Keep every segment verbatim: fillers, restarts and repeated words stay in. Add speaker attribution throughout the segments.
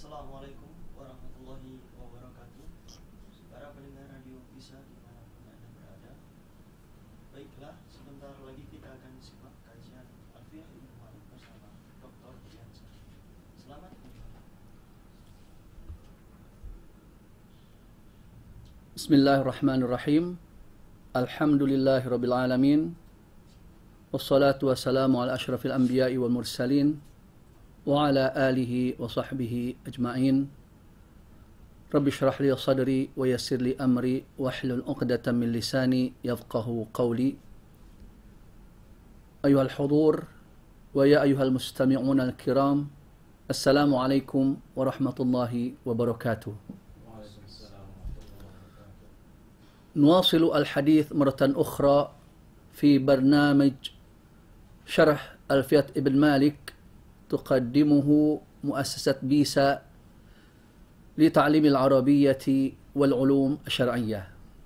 Speaker 1: Assalamualaikum warahmatullahi wabarakatuh. Para pendengar radio bisa dimanapun Anda berada. Baiklah, sebentar lagi kita akan simak kajian Alfiah Ibnu Malik bersama Doktor Diansyah. Selamat menyimak.
Speaker 2: Bismillahirrahmanirrahim. Alhamdulillahirabbil alamin. Wassalatu wassalamu ala asyrafil anbiya'i wal mursalin wa ala alihi wa sahbihi ajma'in. Rabbi shrah li sadri wa yassir li amri wahlul 'uqdatam min lisani yafqahu qawli. Ayuhal hudur wa ya ayuhal mustami'un al-kiram. Assalamu alaikum warahmatullahi wabarakatuh. نواصل الحديث مرة أخرى في برنامج شرح ألفية ابن مالك تقدمه مؤسسة بيسا لتعليم العربية والعلوم الشرعية.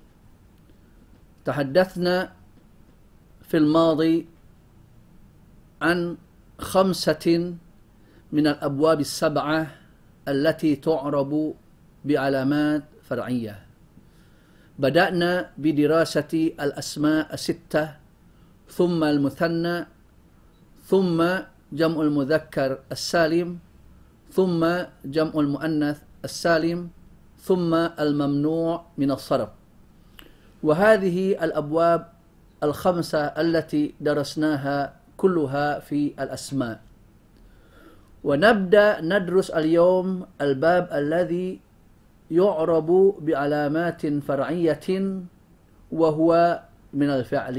Speaker 2: تحدثنا في الماضي عن خمسة من الأبواب السبعة التي تعرب بعلامات فرعية. بدأنا بدراسة الأسماء الستة، ثم المثنى، ثم جمع المذكر السالم، ثم جمع المؤنث السالم، ثم الممنوع من الصرف. وهذه الأبواب الخمسة التي درسناها كلها في الأسماء. ونبدأ ندرس اليوم الباب الذي يعرب بعلامات فرعية وهو من الفعل،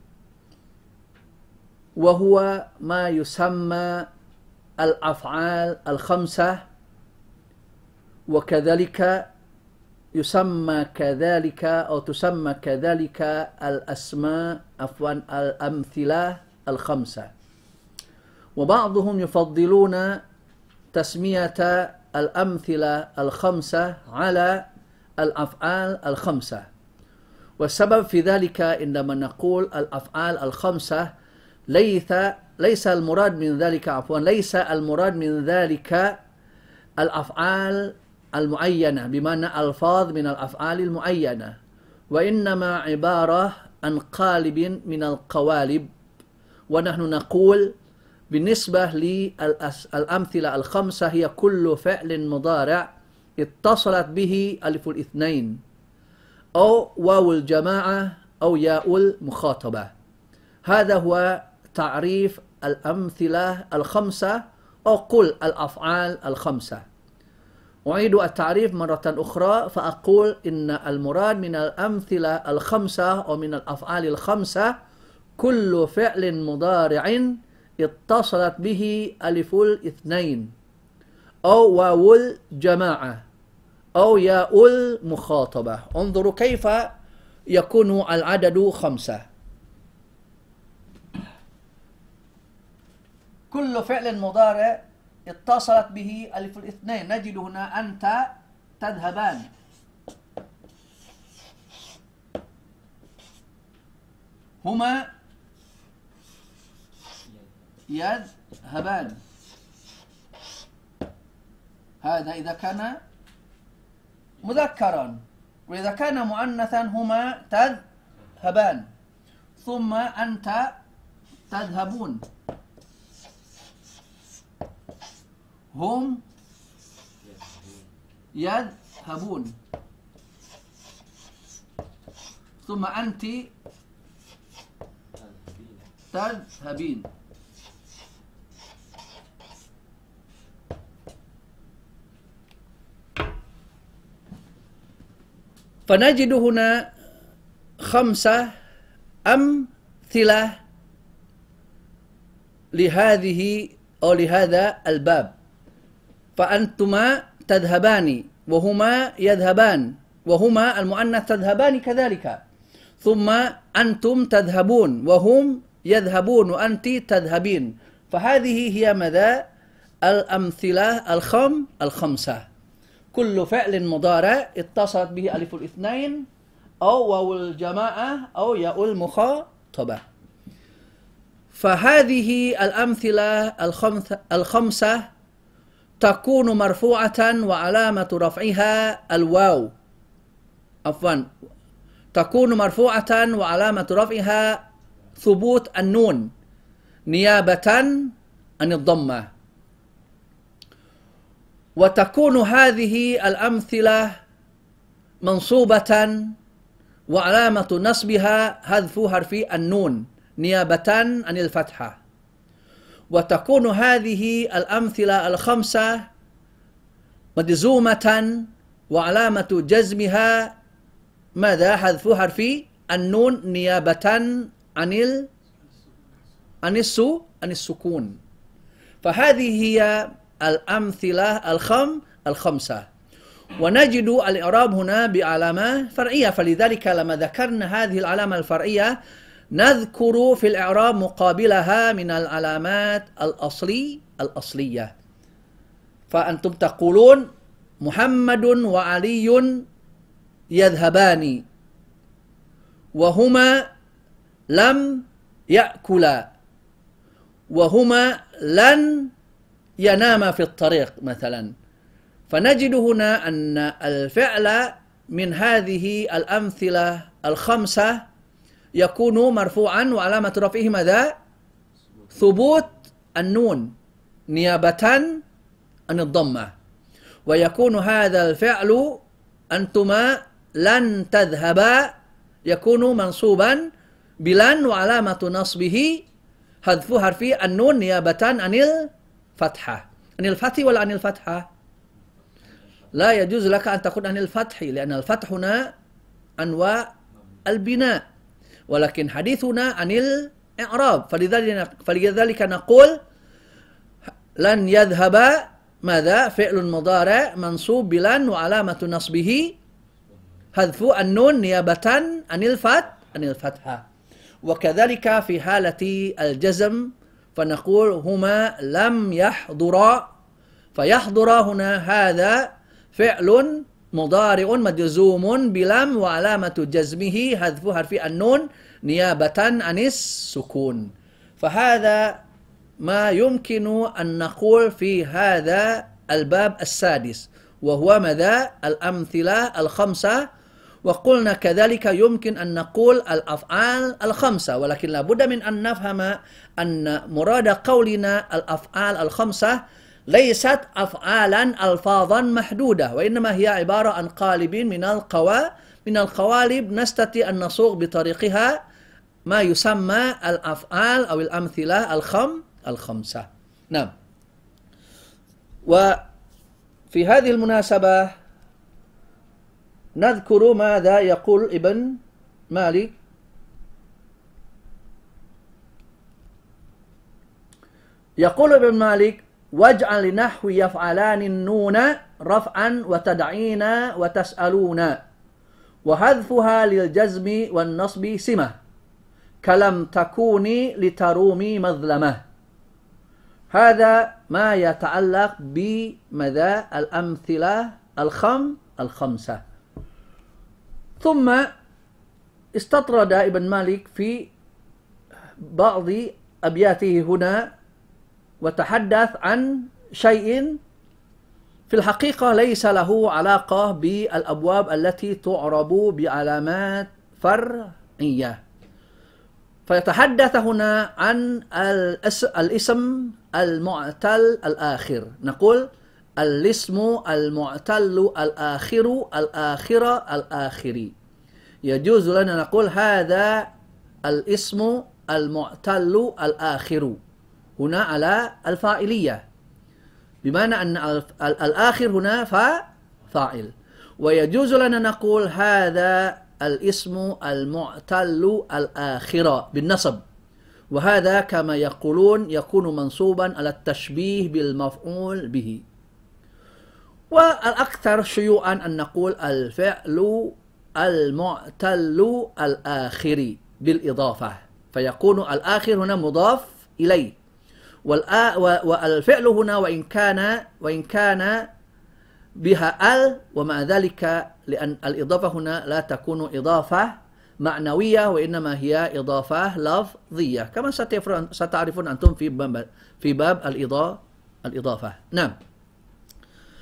Speaker 2: وهو ما يسمى الأفعال الخمسة، وكذلك يسمى كذلك أو تسمى كذلك الأسماء عفوا الأمثلة الخمسة. وبعضهم يفضلون تسمية الأمثلة الخمسة على الأفعال الخمسة. والسبب في ذلك عندما نقول الأفعال الخمسة ليس ليس المراد من ذلك عفوا ليس المراد من ذلك الأفعال المعينة بمعنى ألفاظ من الأفعال المعينة، وإنما عبارة عن قالب من القوالب. ونحن نقول بالنسبة للأمثلة الخمسة هي كل فعل مضارع اتصلت به ألف الاثنين أو واو الجماعة أو ياء المخاطبة. هذا هو تعريف الأمثلة الخمسة أو قل الأفعال الخمسة. أعيد التعريف مرة أخرى فأقول إن المراد من الأمثلة الخمسة أو من الأفعال الخمسة كل فعل مضارع اتصلت به ألف الاثنين أو واو الجماعة أو ياء المخاطبة. انظروا كيف يكون العدد خمسة. كل فعل مضارع اتصلت به ألف الاثنين. نجد هنا أنت تذهبان، هما يذهبان. هذا إذا كان مذكرا، وإذا كان مؤنثا هما تذهبان. ثم أنت تذهبون، هم يذهبون. ثم أنت تذهبين. فنجد هنا خمسة أمثلة لهذه أو لهذا الباب. فأنتما تذهبان وهما يذهبان، وهما المؤنث تذهبان كذلك. ثم أنتم تذهبون وهم يذهبون وأنت تذهبين. فهذه هي ماذا؟ الأمثلة الخم الخمسة. كل فعل مضارع اتصلت به ألف الاثنين أو واو الجماعة أو ياء المخاطبة. فهذه الأمثلة الخمسة تكون مرفوعة وعلامة رفعها الواو عفوا تكون مرفوعة وعلامة رفعها ثبوت النون نيابة عن الضمة. وتكون هذه الأمثلة منصوبة وعلامة نصبها حذف حرف النون نيابة عن الفتحة. وتكون هذه الأمثلة الخمسة مجزومة وعلامة جزمها ماذا؟ حذف حرف النون نيابة عن ال عن السو عن السكون. فهذه هي الأمثلة الخم الخمسة. ونجد الإعراب هنا بعلامة فرعية، فلذلك لما ذكرنا هذه العلامة الفرعية نذكر في الإعراب مقابلها من العلامات الأصلي الأصلية. فأنتم تقولون محمد وعلي يذهبان وهما لم يأكلا وهما لن يناما في الطريق مثلا. فنجد هنا أن الفعل من هذه الأمثلة الخمسة يكون مرفوعا وعلامة رفعه ماذا؟ ثبوت النون نيابة عن الضمة. ويكون هذا الفعل أنتما لن تذهبا يكون منصوبا بلن وعلامة نصبه حذف حرف النون نيابة عن الفتحة. عن الفتح ولا عن الفتحة؟ لا يجوز لك أن تقول عن الفتح، لأن الفتح هنا أنواع البناء، ولكن حديثنا عن الإعراب. فلذلك, فلذلك نقول لن يذهب ماذا؟ فعل مضارع منصوب بلن وعلامة نصبه حذف النون نيابة عن الفتح عن الفتحة. وكذلك في حالة الجزم فنقول هما لم يحضرا، فيحضر هنا هذا فعل مضارع مجزوم بلم وعلامة جزمه حذف حرف النون نيابة عن السكون. فهذا ما يمكن أن نقول في هذا الباب السادس، وهو ماذا؟ الأمثلة الخمسة. وقلنا كذلك يمكن أن نقول الأفعال الخمسة، ولكن لابد من أن نفهم أن مراد قولنا الأفعال الخمسة ليست أفعالا ألفاظا محدودة، وإنما هي عبارة عن قالب من القوا من القوالب نستطيع أن نصوغ بطريقها ما يسمى الأفعال أو الأمثلة الخم الخمسة. نعم. وفي هذه المناسبة نذكر ماذا يقول ابن مالك. يقول ابن مالك: واجعل لنحو يفعلان النون رفعا وتدعين وتسألون وحذفها للجزم والنصب سمة كلم تكوني لترومي مظلمة. هذا ما يتعلق بماذا؟ الأمثلة الخم الخمسة. ثم استطرد ابن مالك في بعض أبياته هنا وتحدث عن شيء في الحقيقة ليس له علاقة بالأبواب التي تعرب بعلامات فرعية. فيتحدث هنا عن الاسم المعتل الآخر. نقول الاسم المعتل الآخر الآخرة الآخري. يجوز لنا نقول هذا الاسم المعتل الآخر هنا على الفاعلية، بمعنى أن الآخر هنا فاعل. ويجوز لنا نقول هذا الاسم المعتل الآخرة بالنصب، وهذا كما يقولون يكون منصوبا على التشبيه بالمفعول به. والأكثر شيوعا أن نقول الفعل المعتل الآخر بالإضافة، فيكون الآخر هنا مضاف إليه، والفعل هنا وإن كان وإن كان بها ال، ومع ذلك لأن الإضافة هنا لا تكون إضافة معنوية وإنما هي إضافة لفظية، كما ستعرفون أنتم في باب في باب الإضافة. نعم.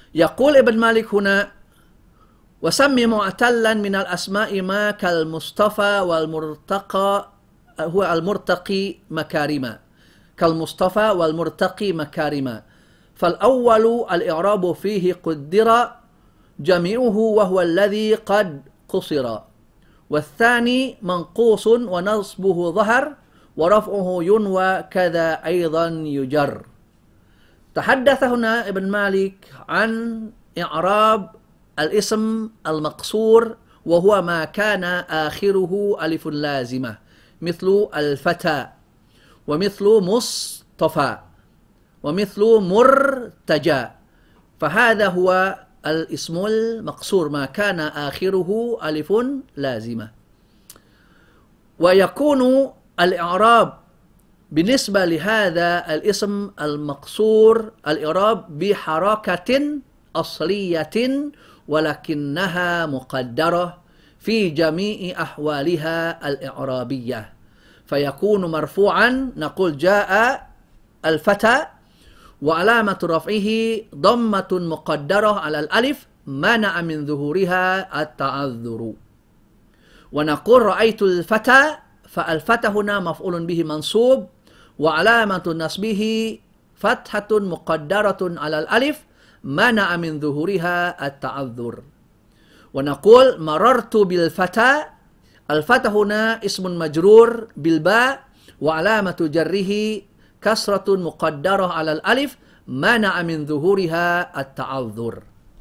Speaker 2: يقول ابن مالك هنا: وسمي معتلا من الأسماء ما كالمصطفى والمرتقى هو المرتقي مكارما كالمصطفى والمرتقي مكارما. فالأول الإعراب فيه قدر جميعه وهو الذي قد قصر، والثاني منقوص ونصبه ظهر ورفعه ينوى كذا أيضا يجر. تحدث هنا ابن مالك عن إعراب الاسم المقصور وهو ما كان آخره ألف لازمة مثل الفتى ومثل مصطفى ومثل مرتجى، فهذا هو الاسم المقصور ما كان آخره ألف لازمة. ويكون الإعراب بالنسبة لهذا الاسم المقصور الإعراب بحركة أصلية ولكنها مقدرة في جميع أحوالها الإعرابية، فيكون مرفوعا نقول جاء الفتى وعلامة رفعه ضمة مقدرة على الألف منع من ظهورها التعذر. ونقول رأيت الفتى، فالفتى هنا مفعول به منصوب وعلامة نصبه فتحة مقدرة على الألف منع من ظهورها التعذر. ونقول مررت بالفتى، الفتى هنا اسم مجرور بالباء وعلامة جره كسرة مقدرة على الألف منع من ظهورها التعذر.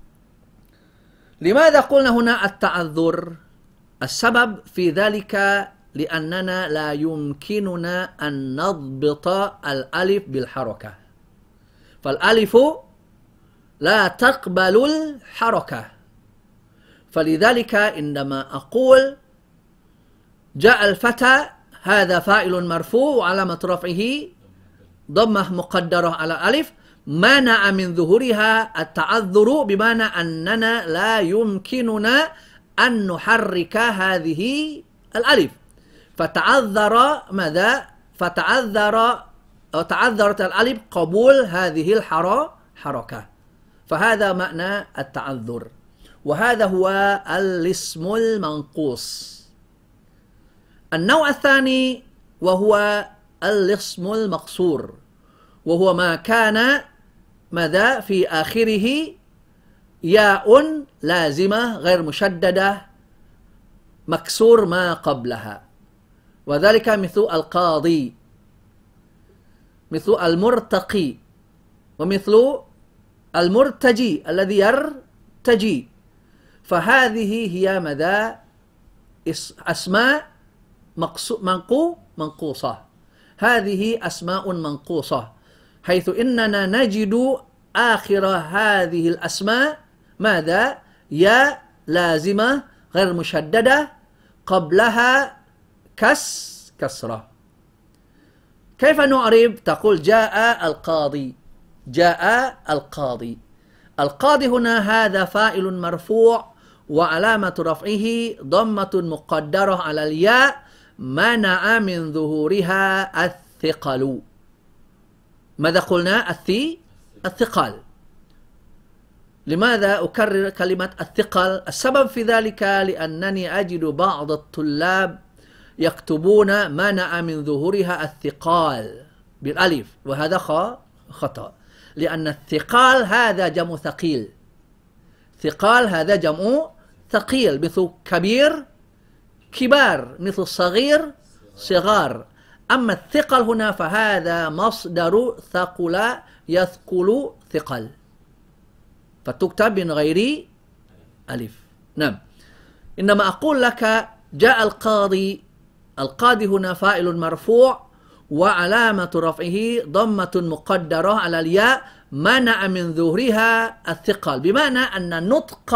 Speaker 2: لماذا قلنا هنا التعذر؟ السبب في ذلك لأننا لا يمكننا أن نضبط الألف بالحركة، فالألف لا تقبل الحركة، فلذلك عندما أقول جاء الفتى هذا فاعل مرفوع وعلامة رفعه ضمة مقدرة على ألف منع من ظهورها التعذر، بمعنى أننا لا يمكننا أن نحرك هذه الألف، فتعذر ماذا؟ فتعذر أو تعذرت الألف قبول هذه الحركة، فهذا معنى التعذر، وهذا هو الاسم المنقوص. النوع الثاني وهو الاسم المقصور، وهو ما كان ماذا في آخره ياء لازمة غير مشددة مكسور ما قبلها، وذلك مثل القاضي مثل المرتقي ومثل المرتجي الذي يرتجي، فهذه هي ماذا؟ أسماء منقو منقوصة، هذه أسماء منقوصة، حيث إننا نجد آخر هذه الأسماء ماذا؟ يا لازمة غير مشددة قبلها كس كسرة. كيف نعرب؟ تقول جاء القاضي، جاء القاضي، القاضي هنا هذا فاعل مرفوع وعلامة رفعه ضمة مقدرة على الياء منع من ظهورها الثقل. ماذا قلنا؟ الثي الثقل. لماذا أكرر كلمة الثقل؟ السبب في ذلك لأنني أجد بعض الطلاب يكتبون منع من ظهورها الثقال بالألف، وهذا خطأ، لأن الثقال هذا جمع ثقيل، ثقال هذا جمع ثقيل، مثل كبير كبار، مثل صغير صغار، أما الثقل هنا فهذا مصدر ثقل يثقل ثقل، فتكتب من غير ألف. نعم، إنما أقول لك جاء القاضي، القاضي هنا فاعل مرفوع وعلامة رفعه ضمة مقدرة على الياء منع من ظهورها الثقل، بمعنى أن نطق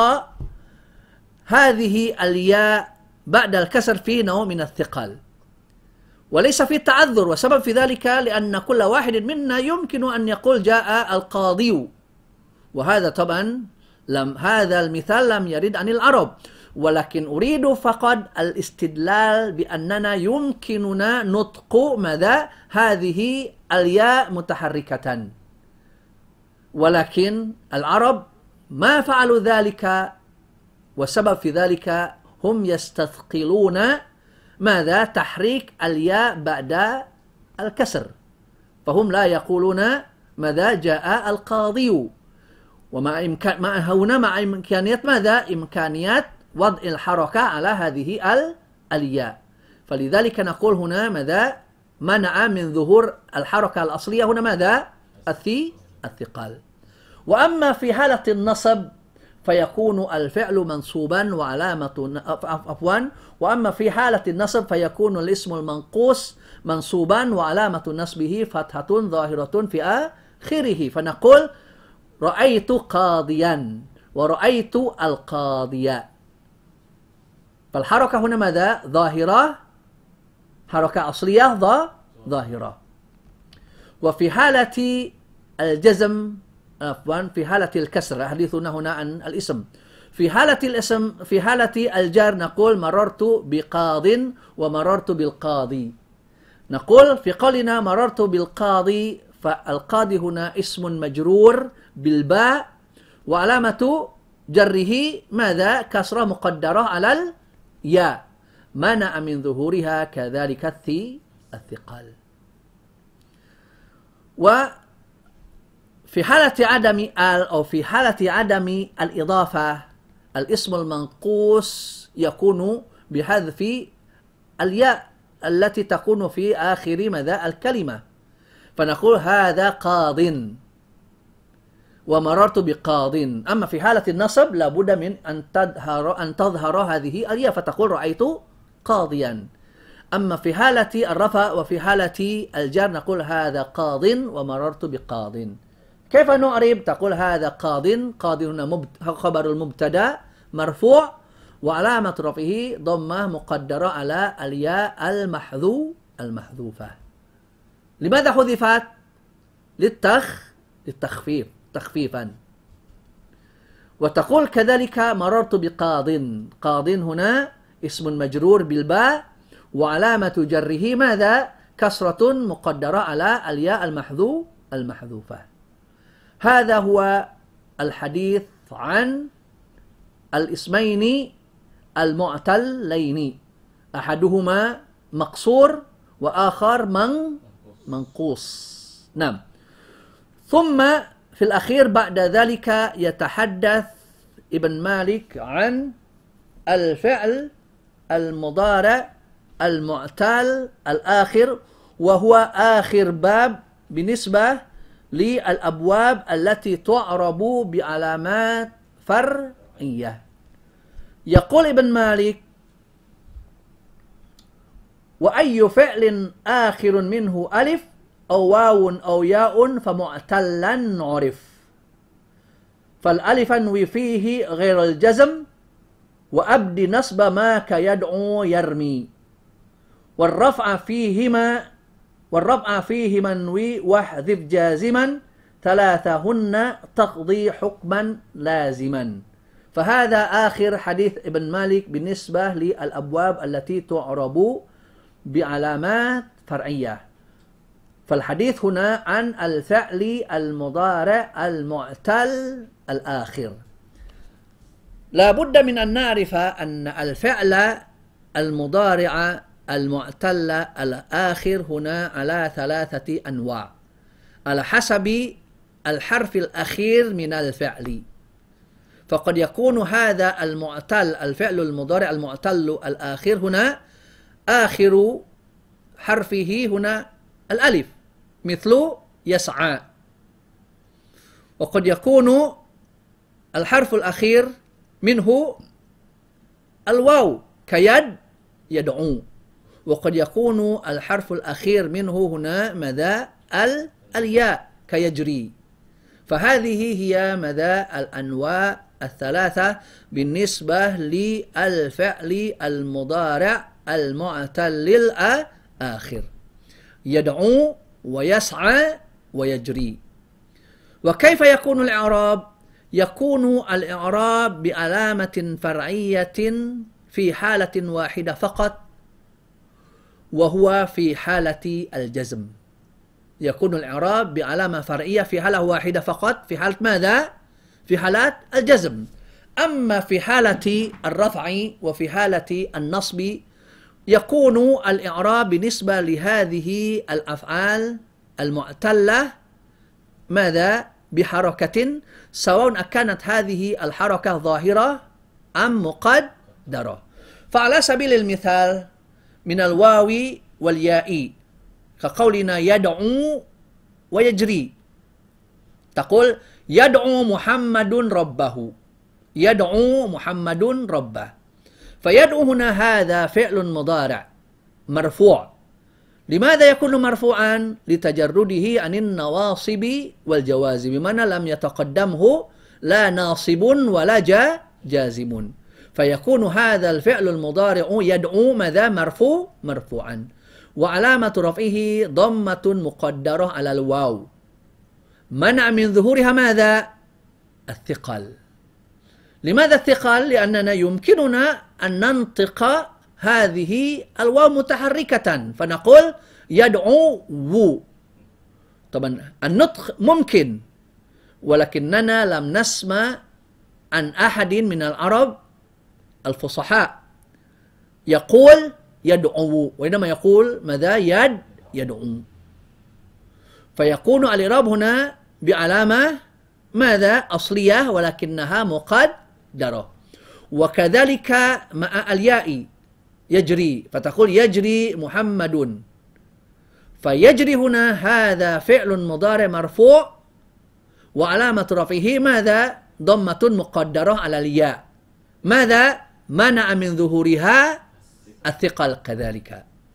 Speaker 2: هذه الياء بعد الكسر فيه نوع من الثقل، وليس في تعذر. وسبب في ذلك لأن كل واحد منا يمكن أن يقول جاء القاضي، وهذا طبعا لم هذا المثال لم يرد عن العرب، ولكن أريد فقط الاستدلال بأننا يمكننا نطق ماذا؟ هذه الياء متحركة، ولكن العرب ما فعلوا ذلك والسبب في ذلك هم يستثقلون ماذا؟ تحريك الياء بعد الكسر، فهم لا يقولون ماذا؟ جاء القاضي، ومع إمكان مع هنا مع إمكانية ماذا؟ إمكانية وضع الحركة على هذه الياء، فلذلك نقول هنا ماذا؟ منع من ظهور الحركة الأصلية هنا ماذا؟ الثي الثقال. وأما في حالة النصب فيكون الفعل منصوبا وعلامة عفوا وأما في حالة النصب فيكون الاسم المنقوص منصوبا وعلامة نصبه فتحة ظاهرة في آخره، فنقول رأيت قاضيا ورأيت القاضية، فالحركة هنا ماذا؟ ظاهرة، حركة أصلية ظاهرة. وفي حالة الجزم عفوا في حالة الكسر، حديثنا هنا عن الاسم، في حالة الاسم في حالة الجار نقول مررت بقاض ومررت بالقاضي. نقول في قولنا مررت بالقاضي فالقاضي هنا اسم مجرور بالباء وعلامة جره ماذا؟ كسرة مقدرة على الياء منع من ظهورها كذلك الثي الثقال. و في حالة عدم ال أو في حالة عدم الإضافة الاسم المنقوص يكون بحذف الياء التي تكون في آخر ماذا؟ الكلمة، فنقول هذا قاض ومررت بقاض. أما في حالة النصب لابد من أن تظهر أن تظهر هذه الياء فتقول رأيت قاضيا. أما في حالة الرفع وفي حالة الجر نقول هذا قاض ومررت بقاض. كيف نعرب؟ تقول هذا قاض، قاض هنا خبر المبتدا مرفوع وعلامة رفعه ضمة مقدرة على الياء المحذو المحذوفة. لماذا حذفت؟ للتخ للتخفيف تخفيفا. وتقول كذلك مررت بقاض، قاض هنا اسم مجرور بالباء وعلامة جره ماذا؟ كسرة مقدرة على الياء المحذو المحذوفة. هذا هو الحديث عن الاسمين المعتلين، أحدهما مقصور وآخر من منقوص. نعم. ثم في الأخير بعد ذلك يتحدث ابن مالك عن الفعل المضارع المعتل الآخر، وهو آخر باب بالنسبة للأبواب التي تعرب بعلامات فرعية. يقول ابن مالك: وأي فعل آخر منه ألف أو واو أو ياء فمعتلا عرف، فالألف انوي فيه غير الجزم وأبد نصب ما كيدعو يرمي، والرفع فيهما والرفع فيه منوي واحذف جازما ثلاثهن تقضي حكما لازما. فهذا آخر حديث ابن مالك بالنسبة للأبواب التي تعرب بعلامات فرعية. فالحديث هنا عن الفعل المضارع المعتل الآخر. لا بد من أن نعرف أن الفعل المضارع المعتل الآخر هنا على ثلاثة أنواع على حسب الحرف الأخير من الفعل. فقد يكون هذا المعتل الفعل المضارع المعتل الآخر هنا آخر حرفه هنا الألف مثل يسعى، وقد يكون الحرف الأخير منه الواو كيد يدعو، وقد يكون الحرف الأخير منه هنا ماذا؟ الياء كيجري. فهذه هي ماذا؟ الأنواع الثلاثة بالنسبة للفعل المضارع المعتل الآخر: يدعو ويسعى ويجري. وكيف يكون الإعراب؟ يكون الإعراب بعلامة فرعية في حالة واحدة فقط، وهو في حالة الجزم. يكون الإعراب بعلامة فرعية في حالة واحدة فقط، في حالة ماذا؟ في حالات الجزم. أما في حالة الرفع وفي حالة النصب يكون الإعراب بالنسبة لهذه الأفعال المعتلة ماذا؟ بحركة، سواء كانت هذه الحركة ظاهرة أم مقدرة. فعلى سبيل المثال من الواو والياء كقولنا يدعو ويجري، تقول يدعو محمد ربه، يدعو محمد ربه. فيدعو هنا هذا فعل مضارع مرفوع. لماذا يكون مرفوعا؟ لتجرده عن النواصب والجوازم، بمعنى لم يتقدمه لا ناصب ولا جازم، فيكون هذا الفعل المضارع يدعو ماذا؟ مرفوع مرفوعا، وعلامة رفعه ضمة مقدرة على الواو، منع من ظهورها ماذا؟ الثقل. لماذا الثقل؟ لأننا يمكننا أن ننطق هذه الواو متحركة فنقول يدعو وو. طبعا النطق ممكن، ولكننا لم نسمع عن أحد من العرب الفصحاء يقول يدعو، وإنما يقول ماذا؟ يد يدعو. فيكون الإعراب هنا بعلامة ماذا؟ أصلية ولكنها مقدرة. وكذلك مع الياء يجري، فتقول يجري محمد، فيجري هنا هذا فعل مضارع مرفوع وعلامة رفعه ماذا؟ ضمة مقدرة على الياء، ماذا؟ منع من ظهورها الثقل كذلك.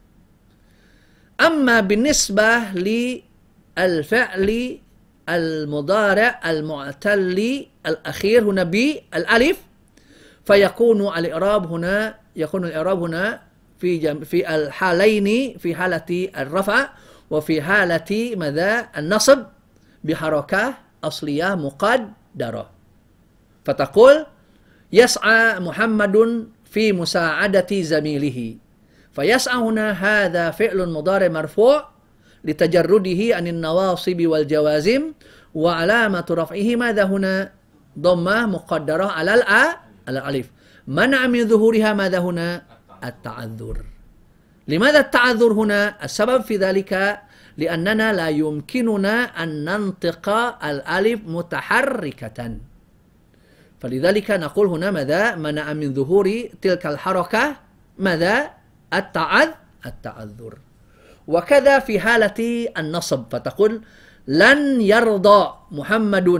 Speaker 2: أما بالنسبة للفعل المضارع المعتل الأخير هنا بالألف فيكون الإعراب هنا يكون الإعراب هنا في جم في الحالين، في حالة الرفع وفي حالة ماذا؟ النصب بحركة أصلية مقدرة. فتقول يسعى محمد في مساعدة زميله، فيسعى هنا هذا فعل مضارع مرفوع لتجرده عن النواصب والجوازم، وعلامة رفعه ماذا هنا؟ ضمة مقدرة على الأ على الألف، منع من ظهورها ماذا هنا؟ التعذر. لماذا التعذر هنا؟ السبب في ذلك لأننا لا يمكننا أن ننطق الألف متحركة، فلذلك نقول هنا ماذا؟ منع من ظهور تلك الحركة ماذا؟ التعذ التعذر. وكذا في حالة النصب، فتقول لن يرضى محمد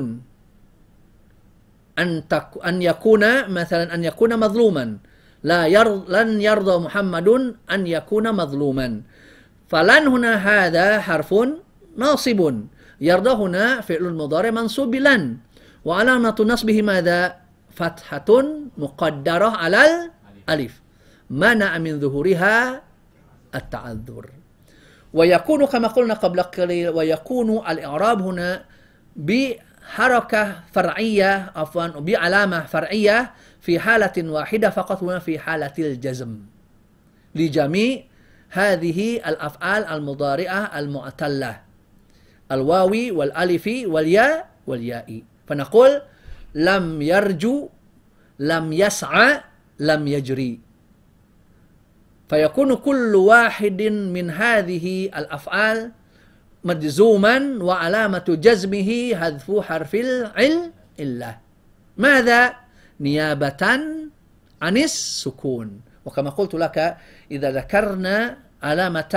Speaker 2: أن تك أن يكون مثلا أن يكون مظلوما، لا يرض لن يرضى محمد أن يكون مظلوما. فلن هنا هذا حرف ناصب، يرضى هنا فعل مضارع منصوب بلن، وعلامة نصبه ماذا؟ فتحة مقدرة على الألف، منع من ظهورها التعذر. ويكون كما قلنا قبل قليل، ويكون الإعراب هنا بحركة فرعية عفوا بعلامة فرعية في حالة واحدة فقط، هنا في حالة الجزم لجميع هذه الأفعال المضارعة المعتلة، الواو والألف والياء والياء. فنقول لم يرجو، لم يسعى، لم يجري. فيكون كل واحد من هذه الأفعال مجزوما وعلامة جزمه حذف حرف العل إلا ماذا؟ نيابة عن السكون. وكما قلت لك إذا ذكرنا علامة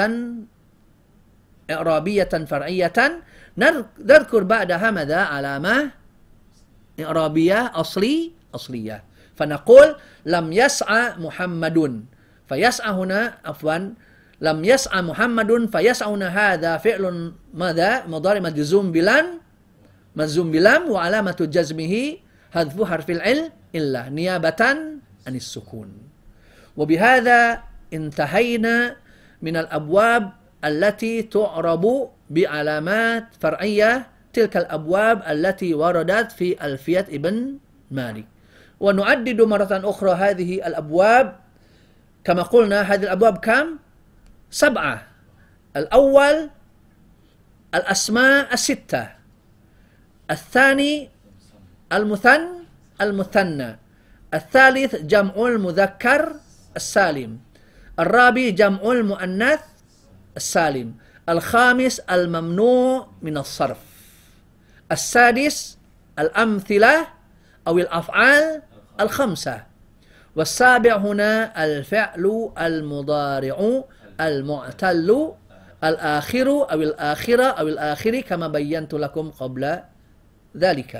Speaker 2: إعرابية فرعية نذكر بعدها ماذا؟ علامة إعرابية أصلي أصلية. فنقول لم يسعى محمد، فيسعى هنا عفوا لم يسعى محمد، فيسعى هنا هذا فعل ماذا؟ مضارع مجزوم بلن مجزوم بلم وعلامة جزمه حذف حرف العل إلا نيابة عن السكون. وبهذا انتهينا من الأبواب التي تعرب بعلامات فرعية، تلك الأبواب التي وردت في ألفية ابن مالك. ونعدد مرة أخرى هذه الأبواب كما قلنا. هذه الأبواب كم؟ سبعة. الأول الأسماء الستة، الثاني
Speaker 3: Al-muthan, al-muthanna. Al-thalith jam'ul mudzakkar as-salim. Al-rabi jam'ul muannath as-salim. Al-khamis al-mamnu' min as-sarf. Al-sadis al-amthilah aw al-af'al al-khamsah. والسابع هنا الفعل المضارع المعتل الآخر أو الآخرة أو الآخر كما بينت لكم قبل ذلك.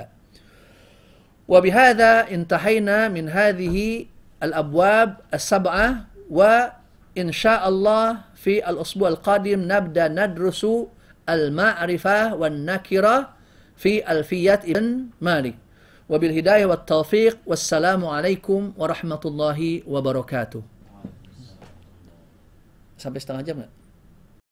Speaker 3: وبهذا انتهينا من هذه الأبواب السبعة، وإن شاء الله في الأسبوع القادم نبدأ ندرس المعرفة والنكرة في ألفية ابن مالك. وبالهداية والتوفيق، والسلام عليكم ورحمة الله وبركاته. Sampai setengah jam nggak?